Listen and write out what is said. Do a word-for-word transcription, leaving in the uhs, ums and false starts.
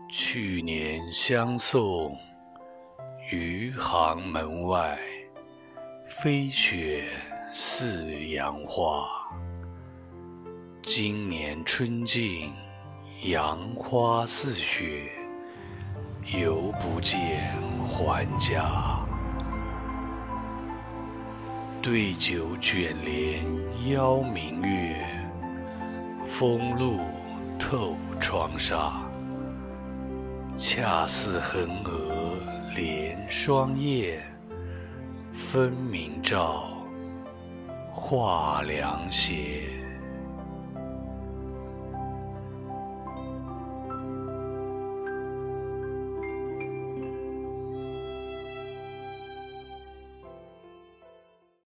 去年相送，余杭门外，飞雪似杨花。今年春尽，杨花似雪，犹不见还家。对酒卷帘邀明月，风露透窗纱。恰似横额连双燕，分明照画凉斜。